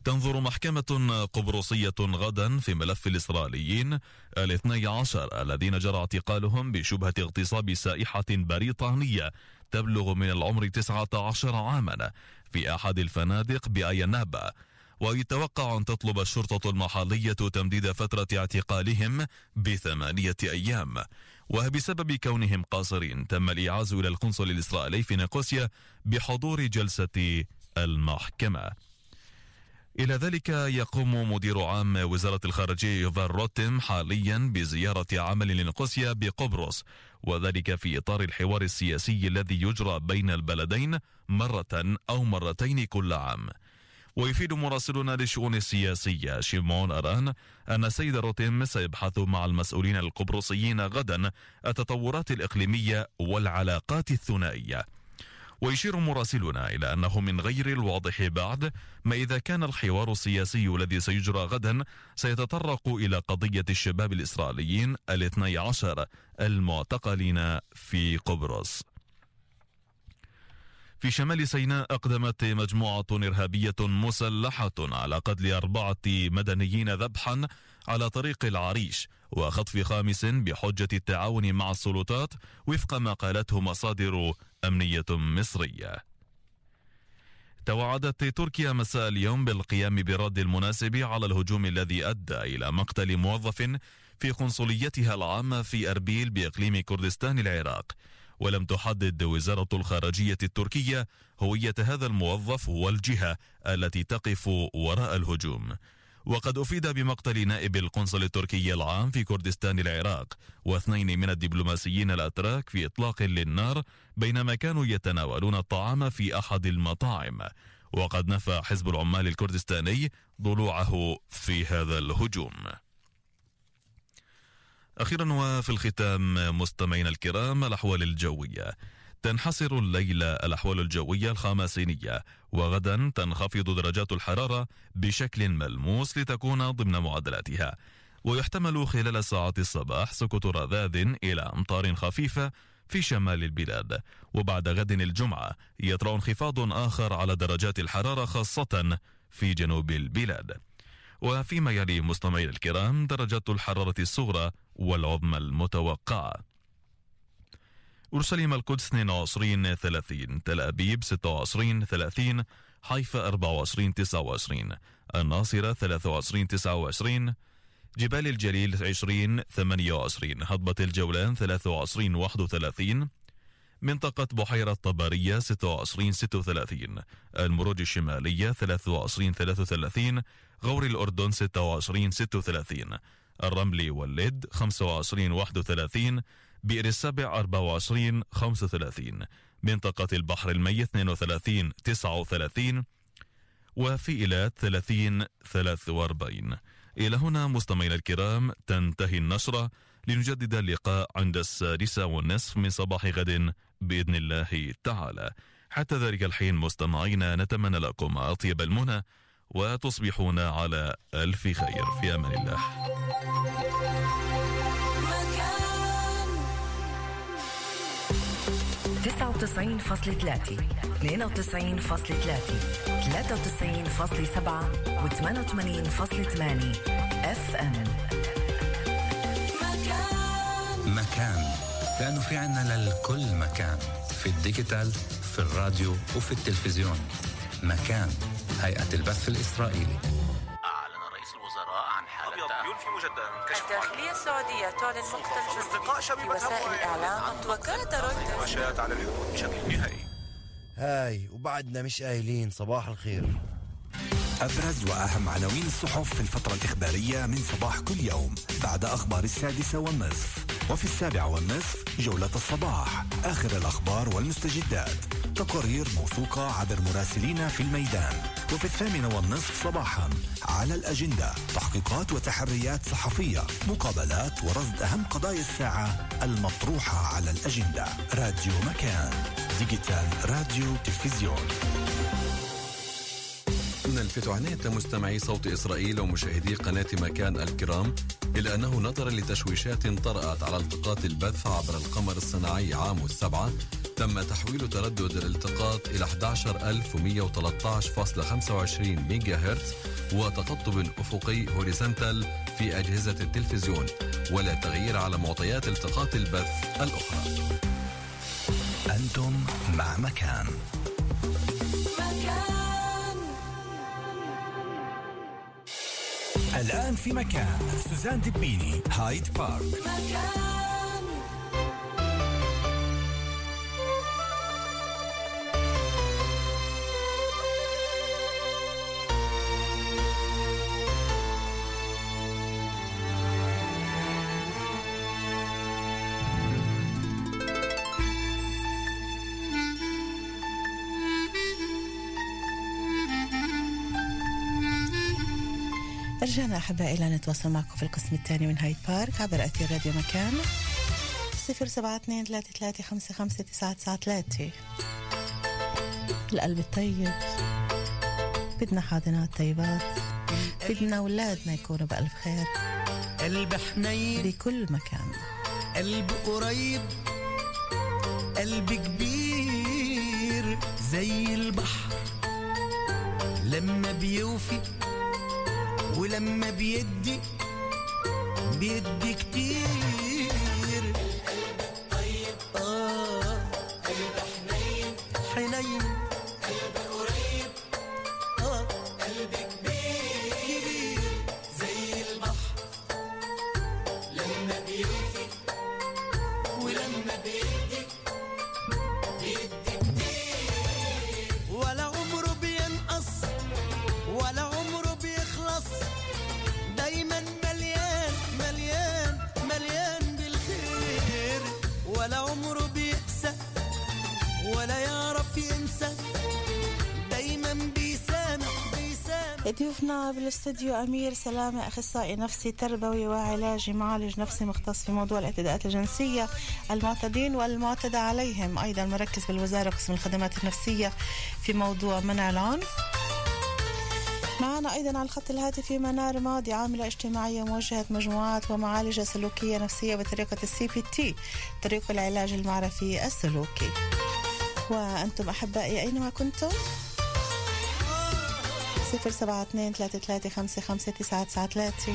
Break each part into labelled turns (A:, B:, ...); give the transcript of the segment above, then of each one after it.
A: تنظر محكمة قبرصية غدا في ملف الإسرائيليين 12 الذين جرى اعتقالهم بشبهة اغتصاب سائحة بريطانية تبلغ من العمر 19 عاما في أحد الفنادق بأينابا. ويتوقع أن تطلب الشرطة المحلية تمديد فترة اعتقالهم ب8 أيام. وبسبب كونهم قاصرين تم الإعاز إلى القنصل الإسرائيلي في نيقوسيا بحضور جلسة المحكمة. إلى ذلك يقوم مدير عام وزارة الخارجية يوفال روتم حاليا بزيارة عمل لنيقوسيا بقبرص، وذلك في إطار الحوار السياسي الذي يجرى بين البلدين مرة أو مرتين كل عام. ويفيد مراسلنا للشؤون السياسية شيمون أران أن السيد روتم سيبحث مع المسؤولين القبرصيين غدا التطورات الإقليمية والعلاقات الثنائية. ويشير مراسلنا إلى أنه من غير الواضح بعد ما إذا كان الحوار السياسي الذي سيجرى غدا سيتطرق إلى قضية الشباب الإسرائيليين 12 المعتقلين في قبرص. في شمال سيناء أقدمت مجموعة إرهابية مسلحة على قتل 4 مدنيين ذبحا على طريق العريش وخطف 5 بحجة التعاون مع السلطات وفق ما قالته مصادر أمنية مصرية. توعدت تركيا مساء اليوم بالقيام بالرد المناسب على الهجوم الذي أدى إلى مقتل موظف في قنصليتها العامة في أربيل بإقليم كردستان العراق. ولم تحدد وزارة الخارجية التركية هوية هذا الموظف والجهة التي تقف وراء الهجوم. وقد أفيد بمقتل نائب القنصل التركي العام في كردستان العراق و2 من الدبلوماسيين الأتراك في إطلاق للنار بينما كانوا يتناولون الطعام في أحد المطاعم. وقد نفى حزب العمال الكردستاني ضلوعه في هذا الهجوم. أخيرا وفي الختام مستمعينا الكرام، الأحوال الجوية. تنحصر الليلة الأحوال الجوية الخماسينية، وغدا تنخفض درجات الحرارة بشكل ملموس لتكون ضمن معدلاتها. ويحتمل خلال ساعات الصباح سقوط رذاذ إلى أمطار خفيفة في شمال البلاد. وبعد غد الجمعة يطرأ انخفاض آخر على درجات الحرارة خاصة في جنوب البلاد. وفيما يلي مستمعينا الكرام درجات الحرارة الصغرى والعظمى المتوقعة: أورشليم القدس 22-30، تل أبيب 26-30، حيفا 24-29، الناصرة 23-29، جبال الجليل 20-28، هضبة الجولان 23-31، منطقة بحيرة طبرية 26-36، المروج الشمالية 23-33، غور الأردن 26-36، الرمل واللد 25-31، بئر السبع 24-35، منطقة البحر الميت 32-39، وفي إيلات 30-43. إلى هنا مستمعينا الكرام تنتهي النشرة، لنجدد اللقاء عند 6:30 من صباح غد بإذن الله تعالى. حتى ذلك الحين مستمعينا نتمنى لكم أطيب المنى وتصبحون على ألف خير، في أمان الله.
B: 99.3 92.3 93.7 و88.8 FM.
C: مكان، لأنه في عنا للكل مكان، في الديجيتال، في الراديو وفي التلفزيون. مكان، هيئة البث الإسرائيلي.
D: أعلن رئيس الوزراء عن حالة
E: ينفي مجددا كشف
F: الداخلية السعودية تعلن مقتل في وسائل الإعلام. وكالة رويترز
E: مشاهد على الحدود بشكل نهائي.
G: هاي وبعدنا مش قايلين صباح الخير.
H: أبرز وأهم عناوين الصحف في الفترة الإخبارية من صباح كل يوم بعد أخبار 6:30، وفي 7:30 جولة الصباح، آخر الأخبار والمستجدات، تقارير موثوقة عبر مراسلين في الميدان، وفي 8:30 صباحا على الأجندة تحقيقات وتحريات صحفية، مقابلات ورصد أهم قضايا الساعة المطروحة على الأجندة. راديو مكان، ديجيتال راديو تلفزيون.
I: نلفت عناية مستمعي صوت إسرائيل ومشاهدي قناة مكان الكرام إلى أنه نظرا لتشويشات طرأت على التقاط البث عبر القمر الصناعي عام 7 تم تحويل تردد الالتقاط إلى 11113.25 ميجا هرتز وتقطب أفقي هوريزونتال في أجهزة التلفزيون، ولا تغيير على معطيات التقاط البث الأخرى.
H: أنتم مع مكان. الآن في مكان سوزان دبيني، هايد بارك.
J: رجعنا أحبائي إلى نتواصل معكم في القسم الثاني من هايد بارك عبر أثير راديو مكان 072-33-55-993. القلب الطيب، بدنا حاضنات طيبات، بدنا أولادنا يكونوا بألف خير،
K: قلب حنين
J: بكل مكان،
K: قلب قريب، قلب كبير زي البحر لما بيوفي ولما بيدي كتير. القلب طيب قلب حنين حنين، قلب قريب قلب كبير زي البحر لما بيوفي ولما بيدي كتير. ولا عمره بينقص ولا عمره بيخلص، دايما مليان مليان مليان بالخير. ولا عمره بيقسى ولا يعرف ينسى، دايما بيسامح.
J: ضيوفنا بالاستوديو أمير سلامة، أخصائي نفسي تربوي وعلاجي، معالج نفسي مختص في موضوع الاعتداءات الجنسية، المعتدين والمعتدى عليهم، أيضا مركز بالوزارة قسم الخدمات النفسية في موضوع منع العنف. معنا أيضا على الخط الهاتفي منار ماضي، عاملة اجتماعية موجهة مجموعات ومعالجة سلوكية نفسية بطريقة CBT، طريقة العلاج المعرفي السلوكي. وأنتم أحبائي أينما كنتم 072-33-55-993.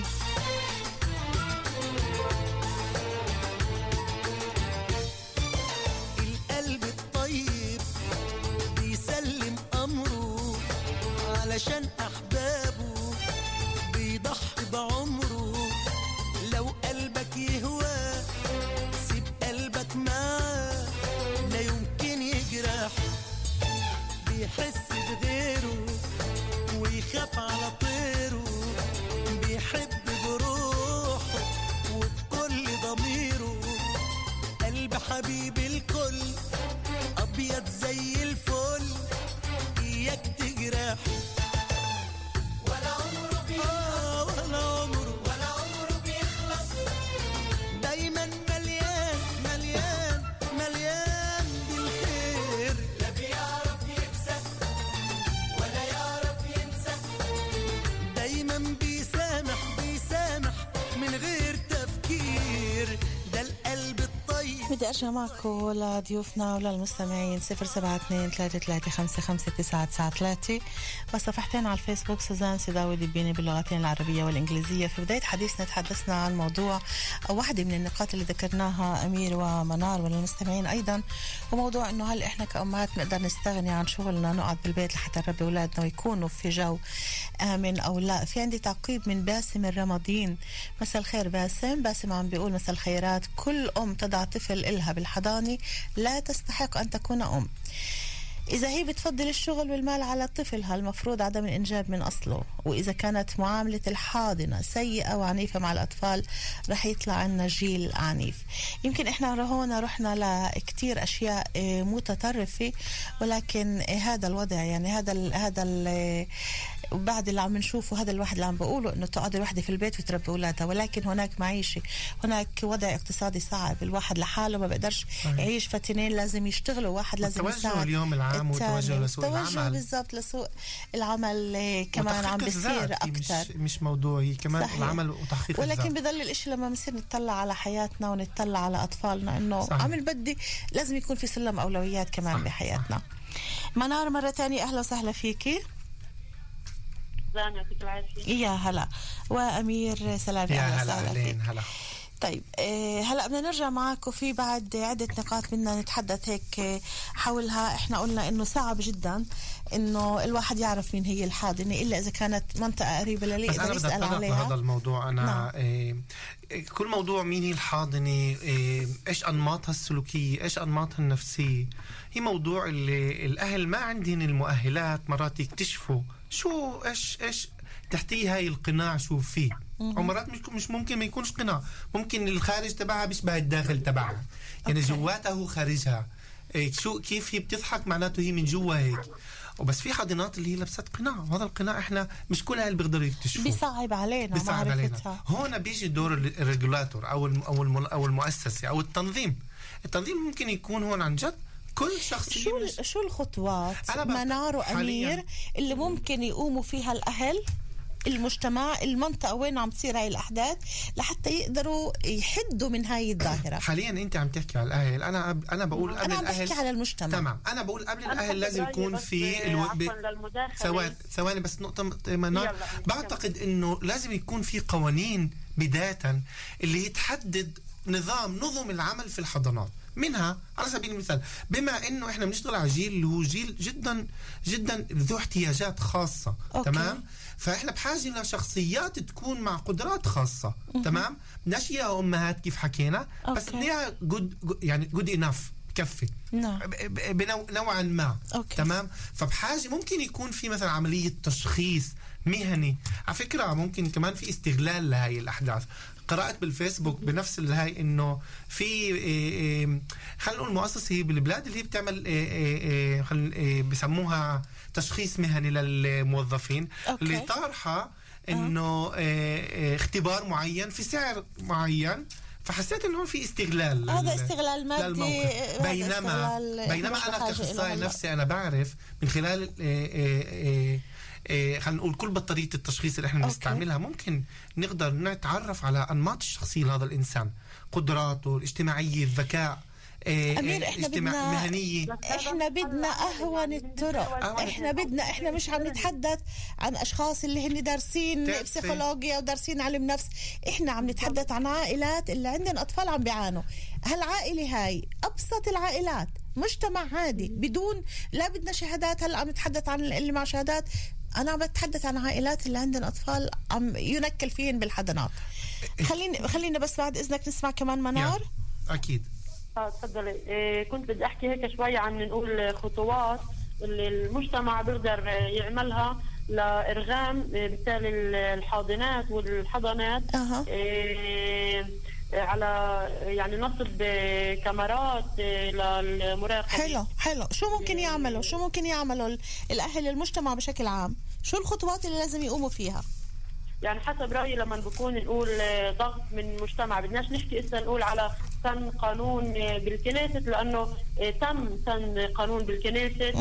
K: القلب الطيب بيسلم أمره علشان أحبابه، بيضحي بعمره. لو قلبك يهوى سيب قلبك معاه، لا يمكن يجرح، بيحس بغيره ويخاف على طيره، بيحب بروحه وبكل ضميره. قلب حبيب الكل أبيض زي الفل، إياك تجرح. ولا عمره بيخلص، دايما مليان مليان مليان بالخير. لا بيعرف يكسب ولا يعرف ينسى، دايما بيسامح من غير تفكير. ده القلب الطيب.
J: بدي أرجع معكم لضيوفنا وللمستمعين 072-33-55-993 وصفحتين على الفيسبوك سوزان سيداوي دبيني باللغتين العربية والإنجليزية. في بداية حديثنا تحدثنا عن موضوع أو واحدة من النقاط اللي ذكرناها أمير ومنار وللمستمعين أيضا، وموضوع أنه هل إحنا كأمهات نقدر نستغني عن شغلنا نقعد بالبيت لحتى نربي أولادنا ويكونوا في جو آمن أو لا. في عندي تعقيب من باسم الرمضين. مساء الخير باسم عم بيقول مساء الخيرات، كل أم تضع طفل إلها بالحضانة لا تستحق أن تكون أم. إذا هي بتفضل الشغل والمال على طفلها المفروض عدم الإنجاب من أصله، وإذا كانت معاملة الحاضنة سيئة وعنيفة مع الأطفال رح يطلع عنا جيل عنيف. يمكن إحنا هنا رحنا لكتير أشياء متطرفة، ولكن هذا الوضع يعني هذا بعد اللي عم نشوفه، هذا الواحد اللي عم بقوله إنه تقعد الوحدة في البيت وتربي أولادها، ولكن هناك معيشة، هناك وضع اقتصادي صعب، الواحد لحاله ما بقدرش يعيش، فتنين لازم يشتغلوا، واحد لازم يساعد.
L: اليوم العام العام وتوجه لسوق العمل.
J: بالضبط لسوق العمل كمان عم بيصير أكتر،
L: مش موضوعي كمان صحيح. العمل وتحقيق
J: ولكن
L: الذات.
J: بضل الإشي لما بنصير نتطلع على حياتنا ونتطلع على أطفالنا إنه عمل بدي لازم يكون في سلم أولويات كمان صح. بحياتنا. منار مرة تانية أهلا وسهلا فيكي.
M: يعطيك العافية.
J: يا هلا. وأمير سلامي
L: أهلا وسهلا فيك. هلا.
J: طيب هلا بدنا نرجع معك، وفي بعد عدة نقاط بدنا نتحدث هيك حولها. احنا قلنا انه صعب جدا انه الواحد يعرف مين هي الحاضنة الا اذا كانت منطقة قريبة للي يقدر يسأل عليها.
L: هذا الموضوع انا كل موضوع مين هي الحاضنة، ايش انماطها السلوكية، ايش انماطها النفسية، هي موضوع اللي الاهل ما عندهم المؤهلات مرات يكتشفوا شو ايش تحتيه هاي القناع شو فيه. ومرات مش ممكن ما يكونش قناع، ممكن الخارج تبعها بيشبه الداخل تبعها، يعني جواتها هو خارجها. شو كيف هي بتضحك معناته هي من جوا هيك. وبس في حاضنات اللي هي لبست قناع، وهذا القناع احنا مش كل اهل بيقدروا يكتشفوه،
J: بيصعب علينا.
L: هون بيجي دور الريجولاتور او المؤسسه او التنظيم ممكن يكون هون عن جد كل شخصية.
J: شو الخطوات منار وأمير اللي ممكن يقوموا فيها الأهل، المجتمع، المنطقة وين عم تصير هاي الأحداث لحتى يقدروا يحدوا من هاي الظاهرة؟
L: حاليا أنت عم تحكي على الأهل، أنا بقول قبل الأهل.
J: أنا بحكي على المجتمع.
L: تمام، أنا بقول قبل الأهل لازم يكون في ثواني بس نقطة منار. بعتقد إنه لازم يكون في قوانين بداية اللي تحدد نظم العمل في الحضانات. منها على سبيل المثال، بما انه احنا بنشتغل على جيل اللي هو جيل جدا جدا ذو احتياجات خاصه. تمام، فاحنا بحاجه لشخصيات تكون مع قدرات خاصه. تمام، بدناش اياها امهات كيف حكينا، بس بدنا جود انف بكفي نوعا ما. تمام، فبحاجه ممكن يكون في مثلا عمليه تشخيص مهني. على فكره ممكن كمان في استغلال لهي الاحداث. قرأت بالفيسبوك بنفس الهاي انه في خلينا نقول مؤسسه هي بالبلاد اللي هي بتعمل بسموها تشخيص مهني للموظفين. اللي طارحه انه اختبار معين في سعر معين، فحسيت انه في استغلال.
J: هذا استغلال مادي.
L: بينما انا كاخصائي نفسي انا بعرف من خلال خلينا نقول كل بطارية التشخيص اللي احنا بنستعملها ممكن نقدر نتعرف على أنماط الشخصية لهذا الإنسان، قدراته الاجتماعية، الذكاء،
J: أمير احنا بدنا أهون الطرق. احنا مش عم نتحدث عن أشخاص اللي هن دارسين بسيكولوجيا ودارسين علم نفس، احنا عم نتحدث عن عائلات اللي عندن أطفال عم بيعانوا. هالعائلة هاي أبسط العائلات، مجتمع عادي بدون لا بدنا شهادات. هلا عم نتحدث عن اللي مع شهادات، أنا عم بتحدث عن عائلات اللي عندن أطفال عم ينكل فيهن بالحضانات. خلينا بس بعد إذنك نسمع كمان منار.
L: أكيد.
M: تفضلي. كنت بدي أحكي هيك شوية عن نقول خطوات اللي المجتمع بيقدر يعملها لإرغام بالتالي الحاضنات والحضانات على يعني نصب كاميرات للمراقبة.
J: حلو. شو ممكن يعملوا الأهل، المجتمع بشكل عام؟ شو الخطوات اللي لازم يقوموا فيها؟
M: يعني حسب رأيي لما بكون نقول ضغط من المجتمع، بدناش نحكي إسا نقول على سن قانون بالكنيست، لأنه تم سن قانون بالكنيست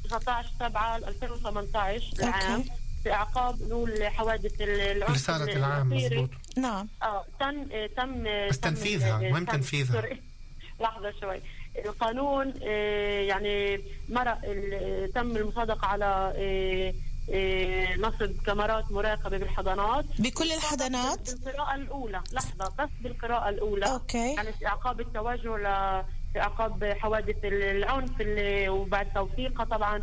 M: 19/7/2018 العام في اعقاب نقول حوادث العنف.
L: رسالة العام مضبوط.
J: نعم.
M: تم
L: بس تنفيذها مهم تنفيذها.
M: لحظة شوي. القانون يعني تم المصادقة على نصب كاميرات مراقبة بالحضانات
J: بكل الحضانات
M: بالقراءة الأولى. لحظة بس بالقراءة الأولى. يعني استعقاب التوجه لاستعقاب حوادث العنف وبعد توثيقها طبعا.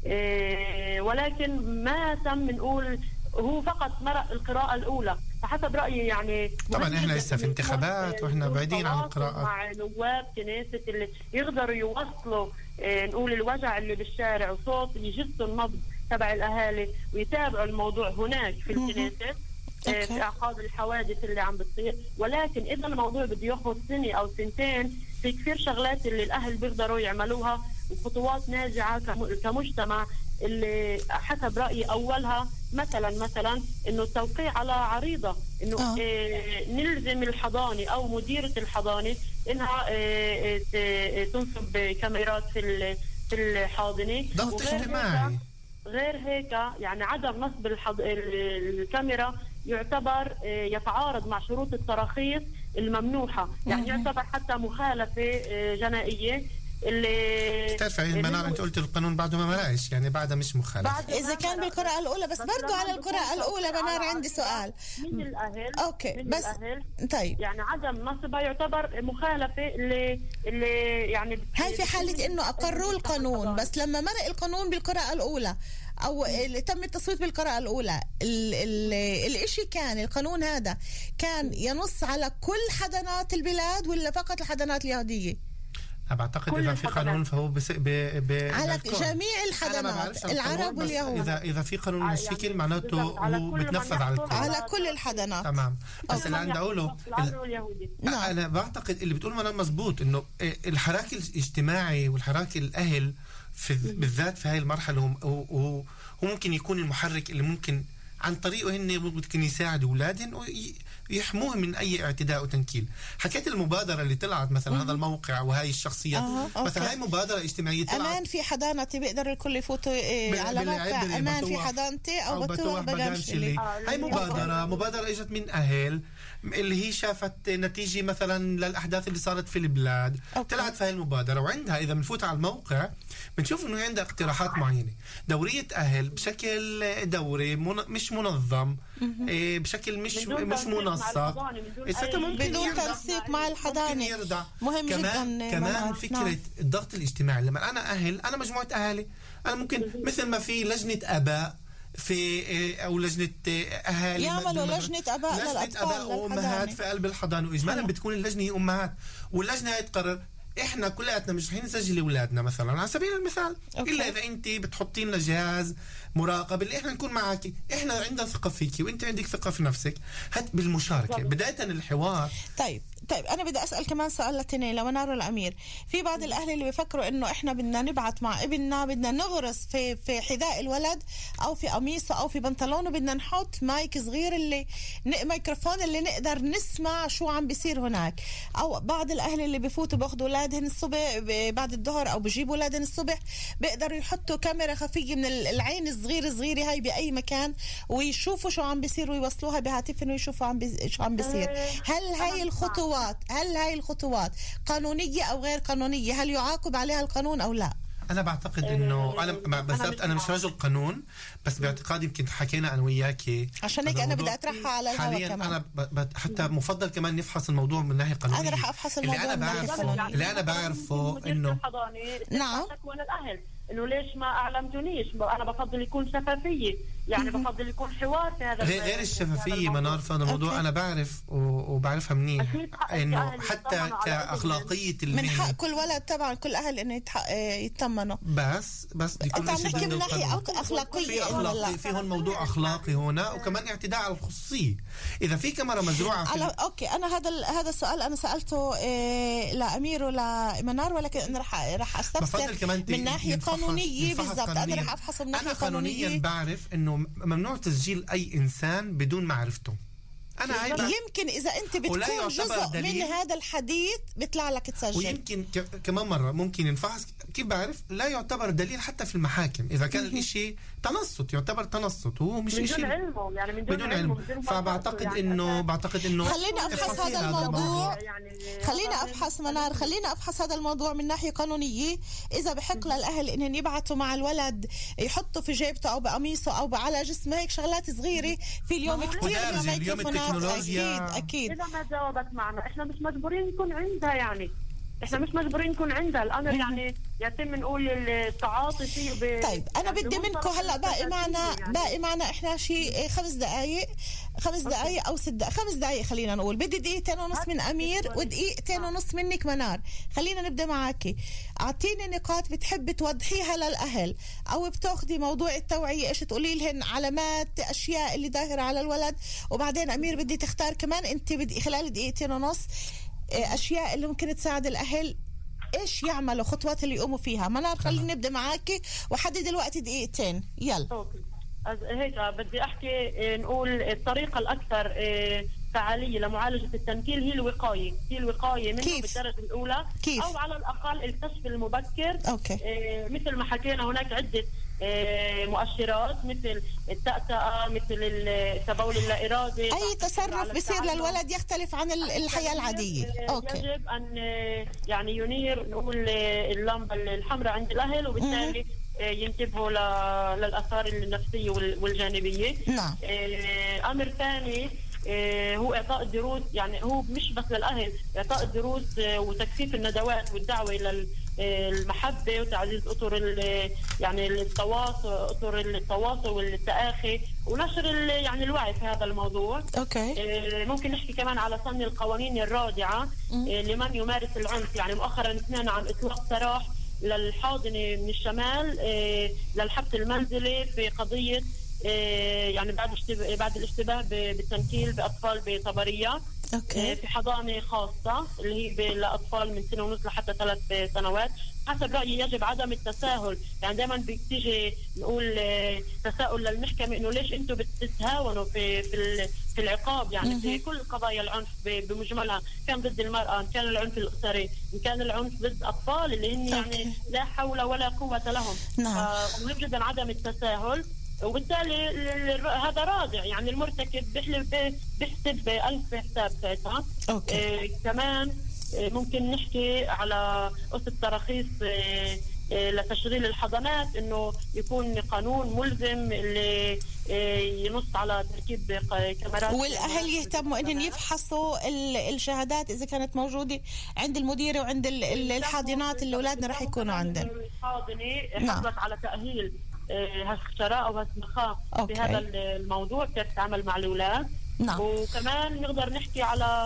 M: ولكن ما تم نقول هو فقط مرق القراءة الأولى. فحسب رأيي يعني
L: طبعا احنا لسه في انتخابات واحنا بعيدين عن القراءة
M: مع نواب كنيسة اللي يقدروا يوصلوا نقول الوجع اللي بالشارع وصوت يجسوا النبض تبع الأهالي ويتابعوا الموضوع هناك في الكنيسة في أعقاب الحوادث اللي عم بتصير. ولكن إذا الموضوع بده ياخذ سنة أو سنتين، في كثير شغلات اللي الأهل بيقدروا يعملوها وخطوات ناجعة كمجتمع. اللي حسب رأيي أولها مثلا إنه التوقيع على عريضة إنه نلزم الحضانة أو مديرة الحضانة إنها تنصب كاميرات في في الحاضنة.
L: ضغط اجتماعي.
M: غير هيك يعني عدم نصب الكاميرا يعتبر يتعارض مع شروط التراخيص الممنوحة، يعني يعتبر حتى مخالفة جنائية. اللي
L: بتعرفي منار انت قلت القانون بعده ما مرقش، يعني بعده مش مخالف
J: اذا كان بالقراءة الاولى، بس برضو على القراءة الاولى منار عندي سؤال
M: من الاهل.
J: اوكي
M: من
J: بس
M: الأهل.
J: طيب
M: يعني عدم نصبها يعتبر مخالفة اللي يعني
J: هاي في حالة انه اقروا القانون، بس لما مرق القانون بالقراءة الاولى او تم التصويت بالقراءة الاولى، الاشي كان القانون هذا كان ينص على كل حضانات البلاد ولا فقط الحضانات اليهودية؟
L: أنا بعتقد إذا في قانون فهو
J: على جميع الحضانات العرب واليهود.
L: إذا في قانون مشكل معناته هو بتنفذ على الكل،
J: على كل الحضانات.
L: تمام. بس اللي عندي أقوله أنا بعتقد اللي بتقول منال مزبوط، إنه الحراك الاجتماعي والحراك الأهل بالذات في هاي المرحلة هو ممكن يكون المحرك اللي ممكن عن طريقه هن ممكن يساعدوا أولادهم ويحموهم من أي اعتداء وتنكيل. حكيت المبادرة اللي طلعت مثلا هذا الموقع وهاي الشخصيات مثلا هاي مبادرة اجتماعية طلعت.
J: أمان في حضانتي بيقدر الكل يفوتوا على موقع أمان في حضانتي أو بتوح بجانشلي.
L: هاي مبادرة اجت من أهل اللي هي شافت نتيجة مثلا للأحداث اللي صارت في البلاد. طلعت في هاي المبادرة، وعندها إذا بنفوت على الموقع بنشوف إنه عندها اقتراحات معينة. دورية أهل بشكل دوري مش منظم، بشكل مش منسق،
J: بدون تنسيق مع الحضانة. مهم جدا.
L: كمان فكرة الضغط الاجتماعي. لما أنا مجموعة أهالي، أنا ممكن مثل ما في لجنة آباء في او لجنه اهالي
J: يعملوا لجنه اباء
L: وامهات في قلب الحضانه، واجمالا بتكون اللجنه هي امهات، واللجنه هي تقرر احنا كلياتنا مش رح نسجل اولادنا مثلا على سبيل المثال. الا اذا انت بتحطي لنا جهاز مراقب اللي احنا نكون معك، احنا عندنا ثقه فيكي وانت عندك ثقه في نفسك. هات بالمشاركه بدايه الحوار.
J: طيب انا بدي اسال كمان سؤال لتنين لمنار والامير. في بعض الاهل اللي بيفكروا انه احنا بدنا نبعث مع ابننا، بدنا نغرس في حذاء الولد او في قميصه او في بنطلونه، بدنا نحط مايك صغير اللي ميكروفون اللي نقدر نسمع شو عم بيصير هناك. او بعض الاهل اللي بفوتوا باخذوا اولادهم الصبح بعد الظهر او بجيبوا اولادهم الصبح، بيقدروا يحطوا كاميرا خفيه من العين الصغيره هاي باي مكان ويشوفوا شو عم بيصير ويوصلوها بهاتفهم ويشوفوا شو عم بيصير. هل هاي الخطوات قانونية أو غير قانونية؟ هل يعاقب عليها القانون أو لا؟
L: أنا بعتقد إنه أنا مش رجل قانون، بس باعتقادي يمكن حكينا أنا وياكي
J: عشان هيك أنا بدي أطرحها على الهواء كمان.
L: أنا حتى مفضل كمان نفحص الموضوع من ناحية قانونية.
J: أنا رح أفحص الموضوع من ناحية قانونية.
L: اللي أنا بعرفه إنه
M: نعم الأهل إنه ليش ما أعلمتونيش. أنا بفضل يكون شفافية، يعني بفضل يكون حوار في هذا
L: غير الشفافية منار في هذا الموضوع. أنا بعرف وبعرفها منيح إنه حتى كأخلاقية
J: من حق كل ولد طبعا كل أهل إنه يطمنوا.
L: بس دي كل شيء
J: من ناحية أخلاقية.
L: في هون موضوع أخلاقي هنا، وكمان اعتداء على الخصوصية. إذا في كاميرا مزروعة
J: أوكي أنا هذا السؤال أنا سألته لأمير ولا منار، ولكن أنا رح أستفسر من ناحية قانونية بالضبط. أنا رح أفحص من ناحية قانونية.
L: أنا بعرف إنه ممنوع تسجيل أي إنسان بدون معرفته. أنا
J: يمكن إذا أنت بتكون جزء من هذا الحديث بيطلع لك تسجل.
L: ويمكن كمان مرة ممكن ينفحص. كيف بعرف؟ لا يعتبر دليل حتى في المحاكم إذا كان الإشي تنصت، يعتبر تنصت وهو مش إشي
M: بدون علمه، يعني
L: بدون علم. فبعتقد إنه
J: خلينا أفحص هذا الموضوع. خلينا أفحص منار، خلينا أفحص هذا الموضوع من ناحية قانونية. إذا بحق للأهل إنهم يبعثوا مع الولد يحطوا في جيبته أو بقميصه أو على جسمه هيك شغلات صغيرة في اليوم كتير
L: التكنولوجيا.
J: أكيد.
M: إذا ما جاوبت معنا إحنا مش مجبورين نكون عندها، يعني إحنا مش مجبورين نكون عندها الأمر، يعني يتم نقول التعاطي فيه.
J: طيب أنا بدي منكم هلا باقي معنا إحنا شيء 5 دقايق أو 6 دقايق، 5 دقايق خلينا نقول. بدي 2.5 دقيقة من أمير و2.5 منك منار. خلينا نبدأ معاكي. أعطيني نقاط بتحب توضحيها للأهل أو بتاخدي موضوع التوعية، إيش تقولي لهن علامات أشياء اللي ظاهرة على الولد. وبعدين أمير بدي تختار كمان أنت بدي خلال 2.5 دقيقة أشياء اللي ممكن تساعد الأهل إيش يعملوا، خطوات اللي يقوموا فيها. منار خلينا نبدأ معاكي وحدد الوقت 2 دقيقة. يلا.
M: هيك بدي احكي نقول الطريقه الاكثر فعاليه لمعالجه التنكيل هي الوقايه منه بالدرجه الاولى. كيف؟ او على الاقل الكشف المبكر.
J: اوكي.
M: مثل ما حكينا هناك عده مؤشرات مثل التأتأة، مثل التبول اللا إرادي.
J: أي تصرف بيصير للولد يختلف عن الحياة العادية. أوكي.
M: يجب أن يعني ينير نقول اللمبة الحمراء عند الأهل، وبالتالي ينتبهوا للآثار النفسية والجانبية.
J: نعم.
M: أمر ثاني هو إعطاء الدروس، يعني هو مش بس للأهل، إعطاء الدروس وتكثيف الندوات والدعوة إلى المحبة وتعزيز أطر يعني أطر التواصل والتآخي ونشر يعني الوعي في هذا الموضوع.
J: أوكي.
M: ممكن نحكي كمان على صن القوانين الرادعة لمن يمارس العنف. يعني مؤخرا سمعنا عن إطلاق سراح للحاضنة من الشمال للحبس المنزلي في قضية يعني بعد الاشتباه بالتنكيل بأطفال بطبرية.
J: أوكي.
M: في حضانة خاصة اللي هي لأطفال من 1.5 سنة لحتى 3 سنوات. حسب رأيي يجب عدم التساهل، يعني دائما بتيجي نقول تساؤل للمحكمة إنه ليش أنتم بتتهاونوا في العقاب. يعني في كل قضايا العنف بمجملها، كان ضد المرأة، إن كان العنف الأسري، إن كان العنف ضد أطفال اللي هن يعني لا حول ولا قوة لهم. مهم جدا عدم التساهل، وبالتالي هذا رادع. يعني المرتكب بيحسب 1000 حساب ساعتها. كمان ممكن نحكي على قصة تراخيص لتشغيل الحضانات، انه يكون قانون ملزم اللي ينص على تركيب كاميرات،
J: والاهل يهتموا انهم يفحصوا الشهادات اذا كانت موجوده عند المديره وعند الحاضنات اللي اولادنا راح يكونوا عندهم.
M: الحاضنه حصلت على تاهيل هالشراء او هالسمخاء في هذا الموضوع، كيف تتعامل مع الاولاد. وكمان نقدر نحكي على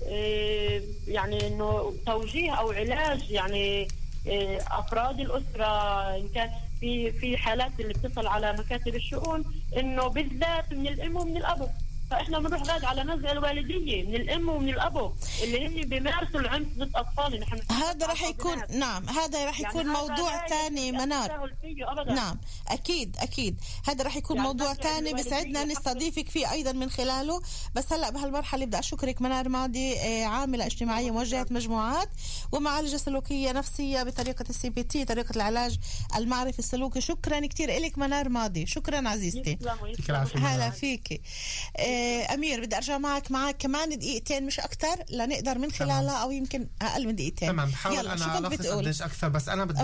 M: يعني انه توجيه او علاج يعني افراد الاسره، ان كان في حالات اللي بتصل على مكاتب الشؤون انه بالذات من الام ومن الاب. فاحنا بنروح غاد على نزعه الوالديه من الام ومن الاب اللي هن بيمارسوا العنف ضد اطفالنا.
J: هذا راح يكون هذا راح يكون يعني موضوع ثاني منار. نعم اكيد هذا راح يكون يعني موضوع ثاني بسعدنا نستضيفك فيه ايضا من خلاله. بس هلا بهالمرحله بدي اشكرك منار ماضي، عامله اجتماعيه موجهه مجموعات ومعالجه سلوكيه نفسيه بطريقه CBT، طريقه العلاج المعرفي السلوكي. شكرا كثير لك منار ماضي، شكرا عزيزتي. هلا فيكي. أمير بدي أرجع معك كمان دقيقتين مش أكتر لنقدر من خلالها أو يمكن أقل من دقيقتين.
L: تمام. بحاول أنا ألخص قديش أكثر، بس أنا بدي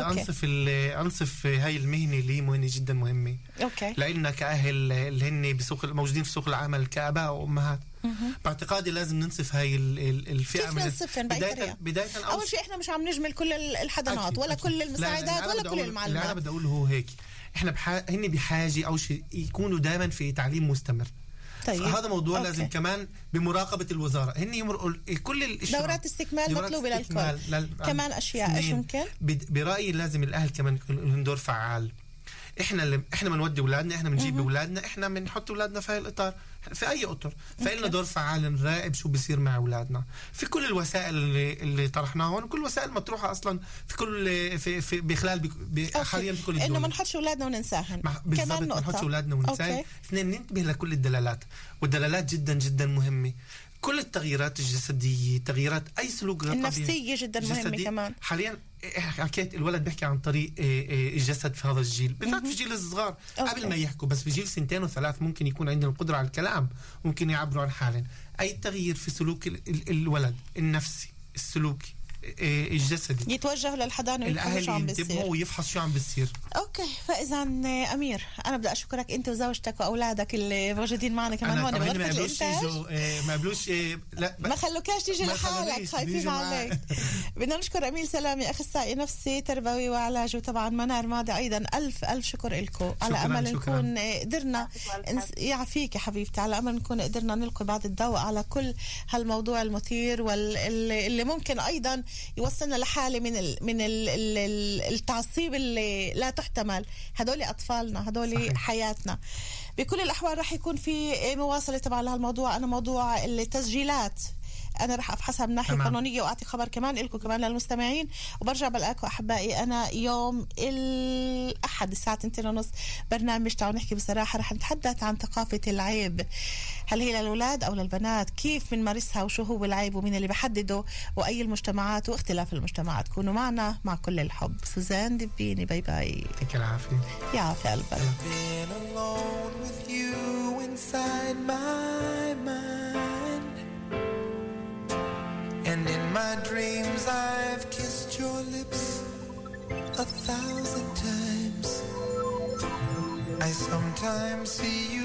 L: أنصف هاي المهنة اللي مهنة جدا مهمة.
J: أوكي.
L: لأننا كأهل اللي هن موجودين في سوق العمل كآباء وأمهات، باعتقادي لازم ننصف هاي الفئة.
J: كيف ننصفهم
L: بداية
J: أول شيء إحنا مش عم نجمل كل الحضانات ولا كل المساعدات ولا كل المعلومات.
L: اللي أنا بدي أقوله هو هيك، إحنا هن بحاجة أول شيء يكونوا دائما في تعليم مستمر. طيب. هذا موضوع أوكي. لازم كمان بمراقبة الوزارة هن يمرقوا كل
J: دورات استكمال مطلوبة للكل. كمان أشياء إيش ممكن؟
L: برأيي لازم الأهل كمان يكون دور فعال. احنا بنودي اولادنا، احنا بنجيب اولادنا، احنا بنحط اولادنا في هاي الاطار في اي اطر، فإلنا دور فعال نراقب شو بيصير مع اولادنا في كل الوسائل اللي طرحناها هون، وكل الوسائل مطروحه اصلا في كل في بخلال حاليا في كل الدول.
J: انه ما نحطش اولادنا وننساهم
L: كمان ما نحطش اولادنا وننساهم. اثنين، ننتبه لكل الدلالات، والدلالات جدا جدا مهمه. كل التغييرات الجسديه، تغييرات اي سلوك غير طبيعي
J: النفسيه جدا مهمه كمان.
L: حاليا حكيت الولد بيحكي عن طريق الجسد في هذا الجيل، بالذات في جيل الصغار قبل ما يحكوا، بس في جيل 2 و3 ممكن يكون عندهم القدره على الكلام، ممكن يعبروا عن حالهم. اي تغيير في سلوك الولد النفسي السلوكي الجسدي
J: يتوجه للحضانه
L: ويفحص شو عم بيصير ويفحص شو عم بيصير.
J: اوكي. فاذا امير انا بدي اشكرك انت وزوجتك واولادك اللي موجودين معنا كمان هون
L: بغرفه الانتاج. ما قبلوش
J: لا ما خلوكاش تيجي لحالك، خايفين عليك. بدنا نشكر امير سلامي اخصائي نفسي تربوي وعلاج، وطبعا منار ماضي ايضا. الف شكر لكم. على امل نكون قدرنا يعافيك يا حبيبتي، على امل نكون قدرنا نلقي بعض الضوء على كل هالموضوع المثير واللي ممكن ايضا يوصلنا لحالة من التعصيب اللي لا تحتمل. هدول أطفالنا، هدول حياتنا. بكل الأحوال رح يكون في مواصلة طبعا لهالموضوع. أنا موضوع التسجيلات أنا رح أفحصها من ناحية قانونية وأعطي خبر كمان لكم كمان للمستمعين، وبرجع بلاقوا أحبائي أنا يوم الأحد الساعة 2:30 برنامج تعالوا نحكي بصراحة. رح نتحدث عن ثقافة العيب، هل هي للأولاد أو للبنات، كيف بنمارسها وشو هو العيب ومين اللي بحدده وأي المجتمعات واختلاف المجتمعات. كونوا معنا مع كل الحب. سوزان دبيني، باي باي.
L: يعطيك العافية.
J: يعافي قلبك.
K: And in my dreams I've kissed your lips 1,000 times. I sometimes see you